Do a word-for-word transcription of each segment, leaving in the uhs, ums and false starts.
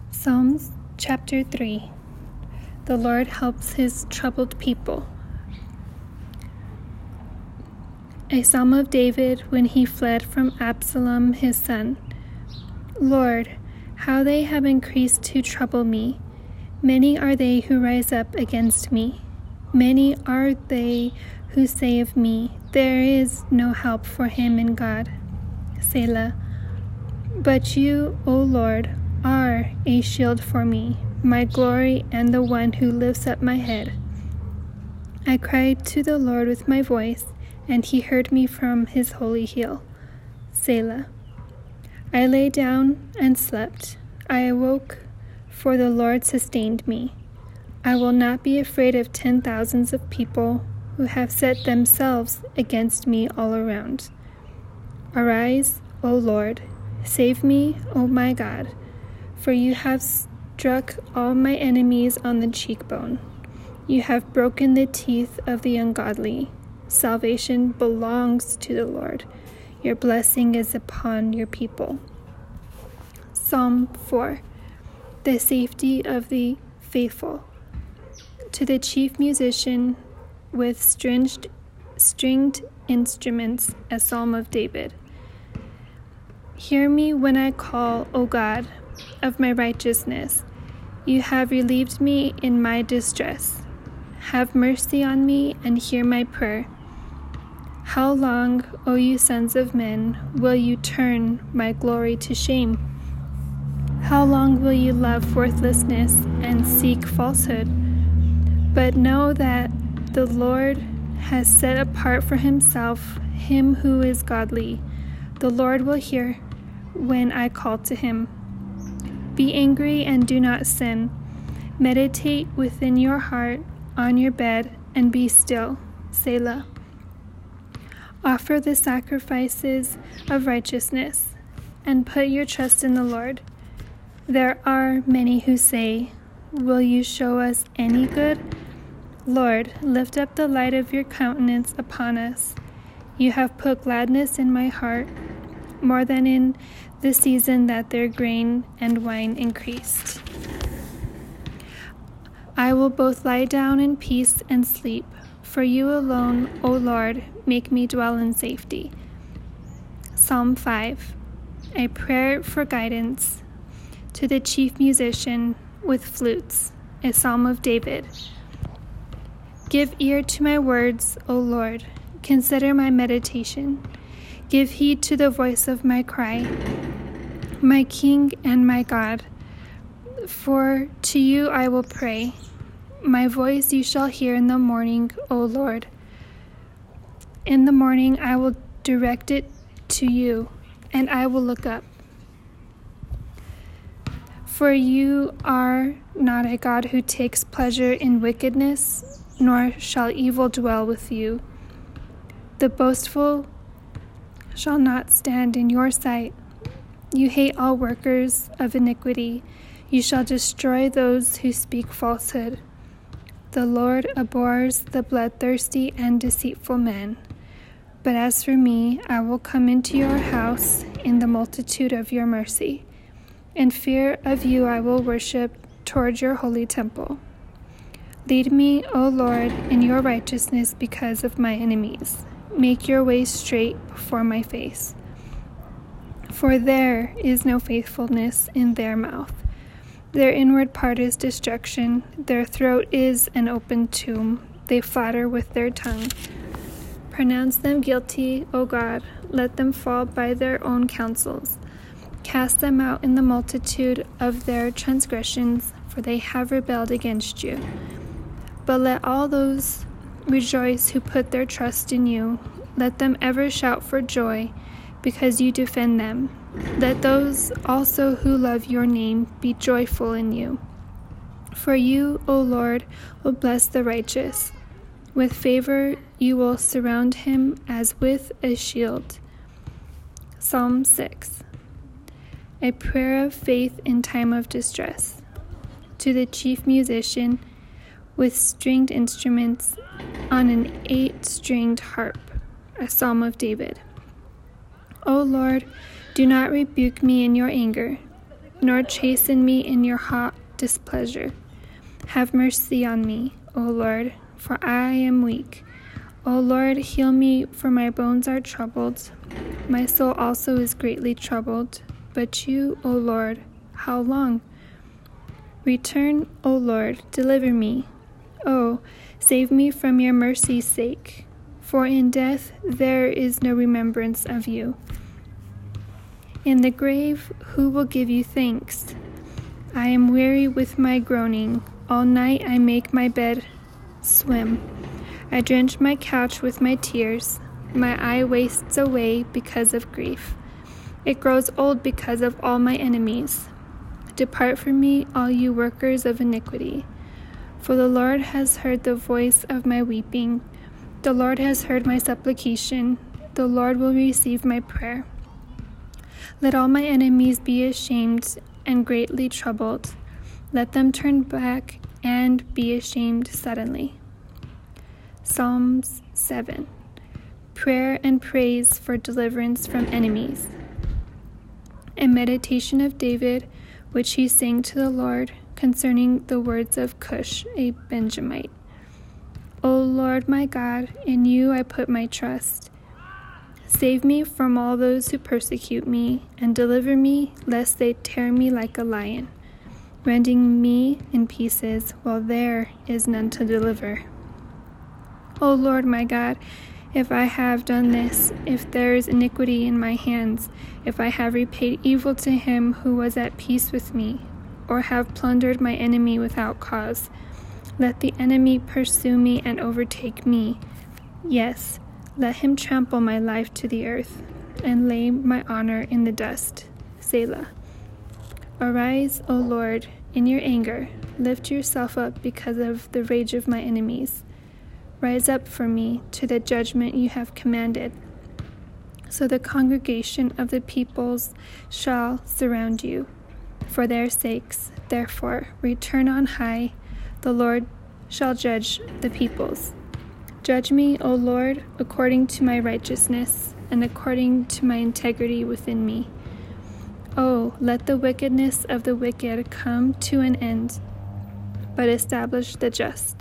Psalms chapter three. The Lord helps his troubled people. A psalm of David when he fled from Absalom his son. Lord, how they have increased to trouble me. Many are they who rise up against me. Many are they who say of me, there is no help for him in God. Selah. But you, O Lord, are a shield for me, my glory and the one who lifts up my head. I cried to the Lord with my voice, and he heard me from his holy hill. Selah. I lay down and slept. I awoke, for the Lord sustained me. I will not be afraid of ten thousands of people who have set themselves against me all around. Arise, O Lord, save me, O my God, for you have struck all my enemies on the cheekbone. You have broken the teeth of the ungodly. Salvation belongs to the Lord. Your blessing is upon your people. Psalm four. The safety of the faithful. To the chief musician with stringed, stringed instruments, a psalm of David. Hear me when I call, O God, of my righteousness. You have relieved me in my distress. Have mercy on me and hear my prayer. How long, O you sons of men, will you turn my glory to shame? How long will you love worthlessness and seek falsehood? But know that the Lord has set apart for himself him who is godly. The Lord will hear when I call to him. Be angry and do not sin. Meditate within your heart on your bed and be still. Selah. Offer the sacrifices of righteousness and put your trust in the Lord. There are many who say, will you show us any good? Lord, lift up the light of your countenance upon us. You have put gladness in my heart, more than in the season that their grain and wine increased. I will both lie down in peace and sleep, for you alone, O Lord, make me dwell in safety. Psalm five. A prayer for guidance. To the chief musician with flutes, a psalm of David. Give ear to my words, O Lord. Consider my meditation. Give heed to the voice of my cry, my King and my God. For to you I will pray. My voice you shall hear in the morning, O Lord. In the morning I will direct it to you, and I will look up. For you are not a God who takes pleasure in wickedness, nor shall evil dwell with you. The boastful shall not stand in your sight. You hate all workers of iniquity. You shall destroy those who speak falsehood. The Lord abhors the bloodthirsty and deceitful man. But as for me, I will come into your house in the multitude of your mercy. In fear of you I will worship toward your holy temple. Lead me, O Lord, in your righteousness because of my enemies. Make your way straight before my face. For there is no faithfulness in their mouth. Their inward part is destruction. Their throat is an open tomb. They flatter with their tongue. Pronounce them guilty, O God. Let them fall by their own counsels. Cast them out in the multitude of their transgressions, for they have rebelled against you. But let all those rejoice who put their trust in you. Let them ever shout for joy, because you defend them. Let those also who love your name be joyful in you. For you, O Lord, will bless the righteous. With favor you will surround him as with a shield. Psalm six. A prayer of faith in time of distress. To the chief musician with stringed instruments on an eight-stringed harp, a psalm of David. O Lord, do not rebuke me in your anger. nor chasten me in your hot displeasure. Have mercy on me, O Lord, for I am weak. O Lord, heal me, for my bones are troubled. My soul also is greatly troubled. But you, O Lord, how long? Return, O Lord, deliver me. Oh, save me from your mercy's sake, for in death there is no remembrance of you. In the grave, who will give you thanks? I am weary with my groaning. All night I make my bed swim. I drench my couch with my tears. My eye wastes away because of grief. It grows old because of all my enemies. Depart from me, all you workers of iniquity. For the Lord has heard the voice of my weeping. The Lord has heard my supplication. The Lord will receive my prayer. Let all my enemies be ashamed and greatly troubled. Let them turn back and be ashamed suddenly. Psalms seven. Prayer and praise for deliverance from enemies. A meditation of David, which he sang to the Lord concerning the words of Cush, a Benjamite. O Lord my God, in you I put my trust. Save me from all those who persecute me, and deliver me, lest they tear me like a lion, rending me in pieces, while there is none to deliver. O Lord my God, if I have done this, if there is iniquity in my hands, if I have repaid evil to him who was at peace with me, or have plundered my enemy without cause, let the enemy pursue me and overtake me. Yes, let him trample my life to the earth, and lay my honor in the dust. Selah. Arise, O Lord, in your anger. Lift yourself up because of the rage of my enemies. Rise up for me to the judgment you have commanded. So the congregation of the peoples shall surround you. For their sakes, therefore, return on high. The Lord shall judge the peoples. Judge me, O Lord, according to my righteousness, and according to my integrity within me. Oh, let the wickedness of the wicked come to an end, but establish the just.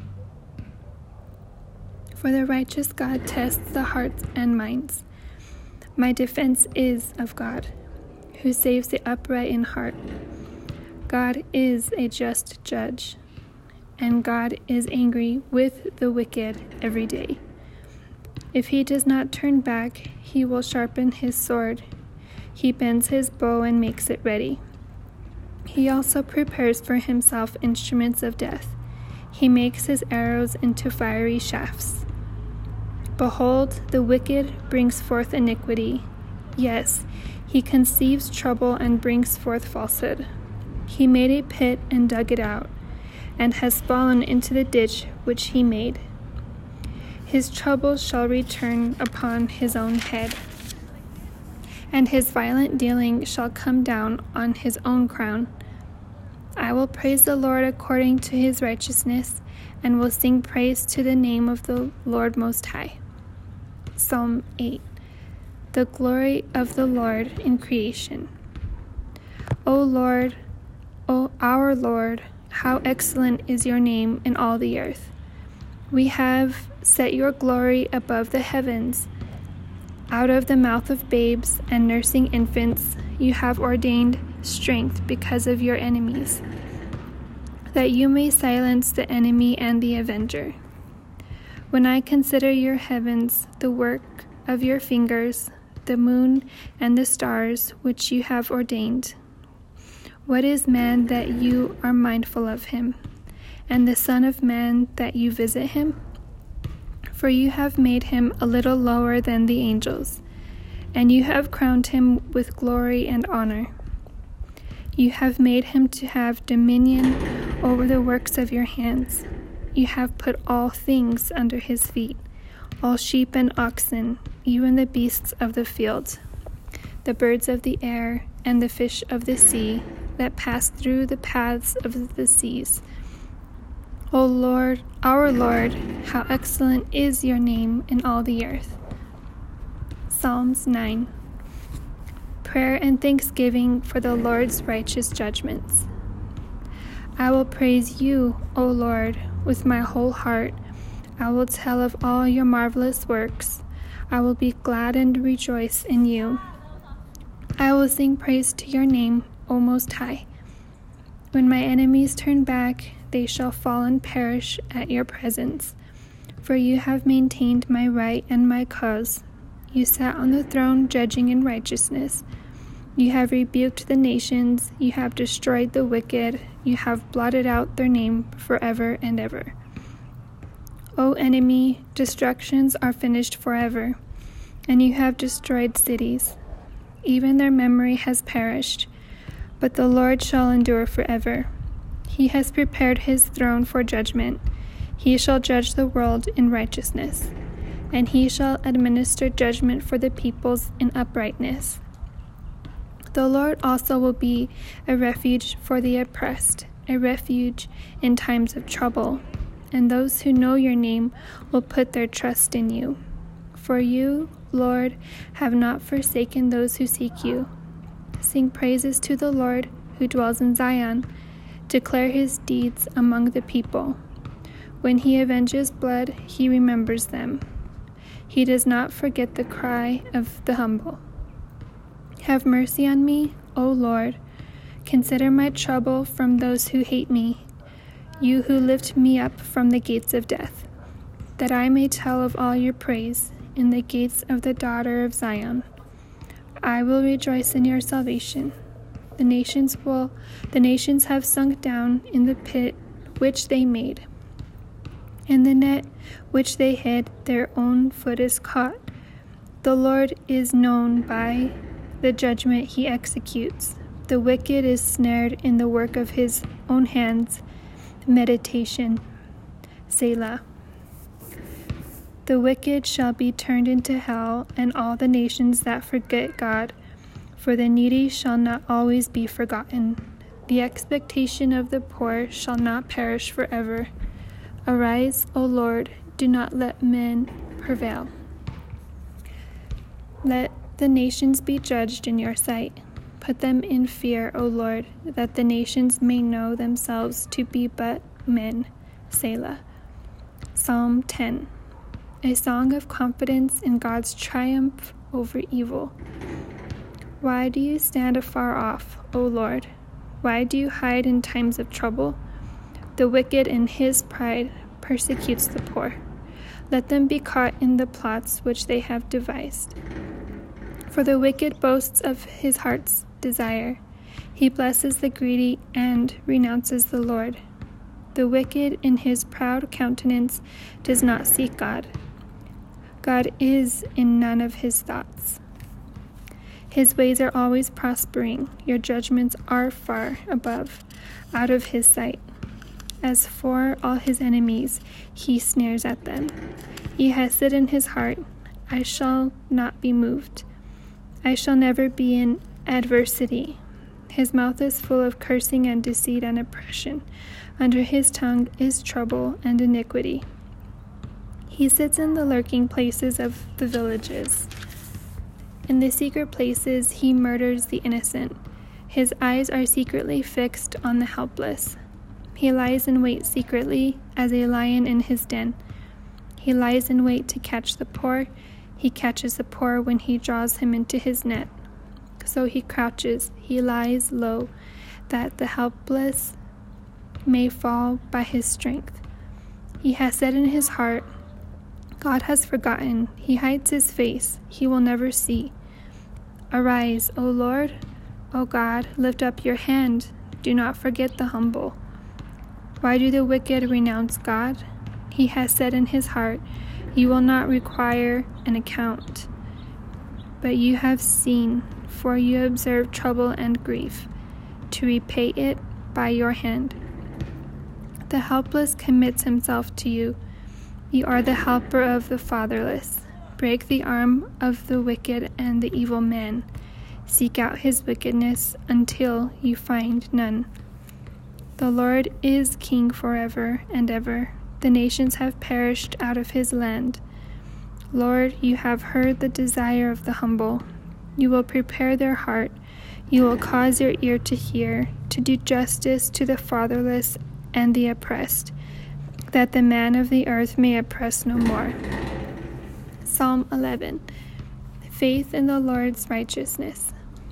For the righteous God tests the hearts and minds. My defense is of God, who saves the upright in heart. God is a just judge, and God is angry with the wicked every day. If he does not turn back, he will sharpen his sword. He bends his bow and makes it ready. He also prepares for himself instruments of death. He makes his arrows into fiery shafts. Behold, the wicked brings forth iniquity. Yes, he conceives trouble and brings forth falsehood. He made a pit and dug it out, and has fallen into the ditch which he made. His trouble shall return upon his own head, and his violent dealing shall come down on his own crown. I will praise the Lord according to his righteousness, and will sing praise to the name of the Lord Most High. Psalm eight. The glory of the Lord in creation. O Lord, O our Lord, how excellent is your name in all the earth. We have set your glory above the heavens. Out of the mouth of babes and nursing infants, you have ordained strength because of your enemies, that you may silence the enemy and the avenger. When I consider your heavens, the work of your fingers, the moon and the stars which you have ordained, what is man that you are mindful of him, and the Son of Man that you visit him? For you have made him a little lower than the angels, and you have crowned him with glory and honor. You have made him to have dominion over the works of your hands. You have put all things under his feet, all sheep and oxen, even the beasts of the field, the birds of the air, and the fish of the sea, that pass through the paths of the seas. O Lord, our Lord, how excellent is your name in all the earth. Psalms nine. prayer and thanksgiving for the Lord's righteous judgments. I will praise you, O Lord, with my whole heart. I will tell of all your marvelous works. I will be glad and rejoice in you. I will sing praise to your name, O Most High. When my enemies turn back, they shall fall and perish at your presence. For you have maintained my right and my cause. You sat on the throne judging in righteousness. You have rebuked the nations. You have destroyed the wicked. You have blotted out their name forever and ever. O enemy, destructions are finished forever, and you have destroyed cities. Even their memory has perished, but the Lord shall endure forever. He has prepared his throne for judgment. He shall judge the world in righteousness, and he shall administer judgment for the peoples in uprightness. The Lord also will be a refuge for the oppressed, a refuge in times of trouble, and those who know your name will put their trust in you. For you, Lord, have not forsaken those who seek you. Sing praises to the Lord who dwells in Zion. Declare his deeds among the people. When he avenges blood, he remembers them. He does not forget the cry of the humble. Have mercy on me, O Lord. Consider my trouble from those who hate me, you who lift me up from the gates of death, that I may tell of all your praise in the gates of the daughter of Zion. I will rejoice in your salvation. The nations will, the nations have sunk down in the pit which they made. In the net which they hid, their own foot is caught. The Lord is known by the judgment he executes. The wicked is snared in the work of his own hands. Meditation. Selah. The wicked shall be turned into hell, and all the nations that forget God. For the needy shall not always be forgotten. The expectation of the poor shall not perish forever. Arise, O Lord, do not let men prevail. Let the nations be judged in your sight. Put them in fear, O Lord, that the nations may know themselves to be but men. Selah. Psalm ten. A song of confidence in God's triumph over evil. Why do you stand afar off, O Lord? Why do you hide in times of trouble? The wicked in his pride persecutes the poor. Let them be caught in the plots which they have devised. For the wicked boasts of his heart's desire. He blesses the greedy and renounces the Lord. The wicked in his proud countenance does not seek God. God is in none of his thoughts. His ways are always prospering. Your judgments are far above, out of his sight. As for all his enemies, he snares at them. He has said in his heart, I shall not be moved. I shall never be in adversity. His mouth is full of cursing and deceit and oppression. Under his tongue is trouble and iniquity. He sits in the lurking places of the villages. In the secret places he murders the innocent. His eyes are secretly fixed on the helpless. He lies in wait secretly as a lion in his den. He lies in wait to catch the poor. He catches the poor when he draws him into his net. So he crouches, he lies low, that the helpless may fall by his strength. He has said in his heart, God has forgotten. He hides his face. He will never see. Arise, O Lord. O God, lift up your hand. Do not forget the humble. Why do the wicked renounce God? He has said in his heart, he will not require an account. But you have seen, for you observe trouble and grief, to repay it by your hand. The helpless commits himself to you. You are the helper of the fatherless. Break the arm of the wicked and the evil man. Seek out his wickedness until you find none. The Lord is king forever and ever. The nations have perished out of his land. Lord, you have heard the desire of the humble. You will prepare their heart. You will cause your ear to hear, to do justice to the fatherless and the oppressed, that the man of the earth may oppress no more. Psalm eleven. Faith in the Lord's righteousness.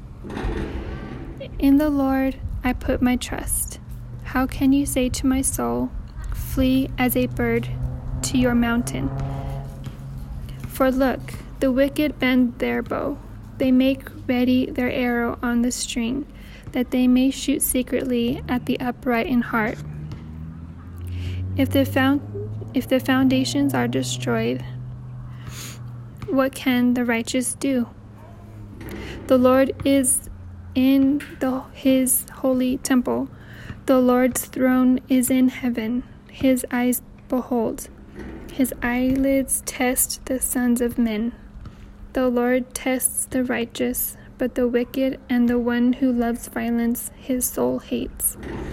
In the Lord I put my trust. How can you say to my soul, flee as a bird to your mountain? For look, the wicked bend their bow. They make ready their arrow on the string, that they may shoot secretly at the upright in heart. If the found, if the foundations are destroyed, what can the righteous do? The Lord is in the, his holy temple. The Lord's throne is in heaven. His eyes behold. His eyelids test the sons of men. The Lord tests the righteous, but the wicked and the one who loves violence his soul hates.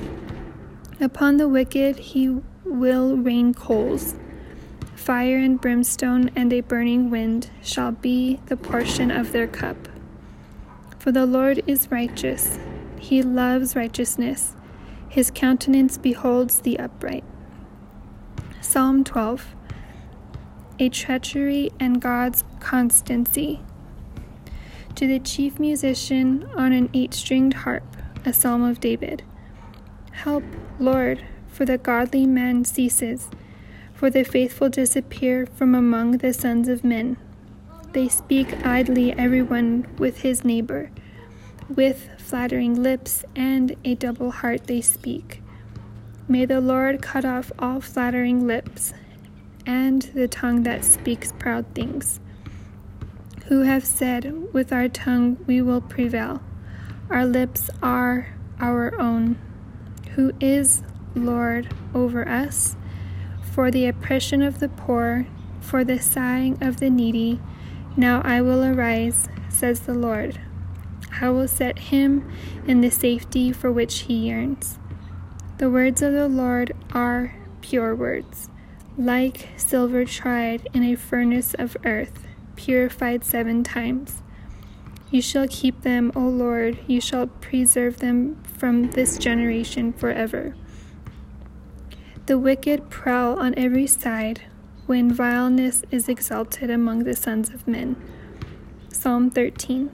Upon the wicked he will rain coals. Fire and brimstone and a burning wind shall be the portion of their cup. For the Lord is righteous. He loves righteousness. His countenance beholds the upright. Psalm twelve. A treachery and God's constancy. To the chief musician on an eight-stringed harp, a psalm of David. Help, Lord, for the godly man ceases, for the faithful disappear from among the sons of men. They speak idly everyone with his neighbor. With flattering lips and a double heart they speak. May the Lord cut off all flattering lips, and the tongue that speaks proud things. Who have said, with our tongue we will prevail. Our lips are our own. Who is Lord over us? For the oppression of the poor, for the sighing of the needy, now I will arise, says the Lord. I will set him in the safety for which he yearns. The words of the Lord are pure words, like silver tried in a furnace of earth, purified seven times. You shall keep them, O Lord, you shall preserve them from this generation forever. The wicked prowl on every side, when vileness is exalted among the sons of men. Psalm thirteen.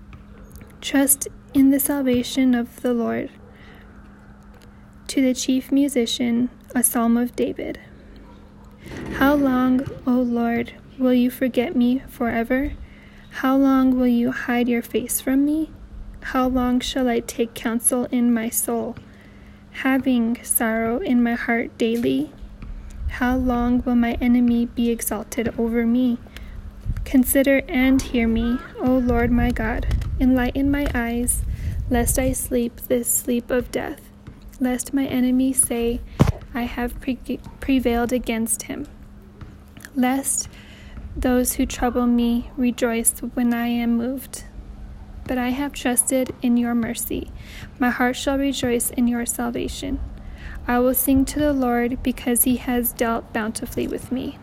Trust in the salvation of the Lord. To the chief musician, a psalm of David. How long, O Lord, will you forget me forever? How long will you hide your face from me? How long shall I take counsel in my soul, having sorrow in my heart daily? How long will my enemy be exalted over me? Consider and hear me, O Lord my God. Enlighten my eyes, lest I sleep this sleep of death, lest my enemy say, I have pre- prevailed against him. Lest those who trouble me rejoice when I am moved. But I have trusted in your mercy. My heart shall rejoice in your salvation. I will sing to the Lord because he has dealt bountifully with me.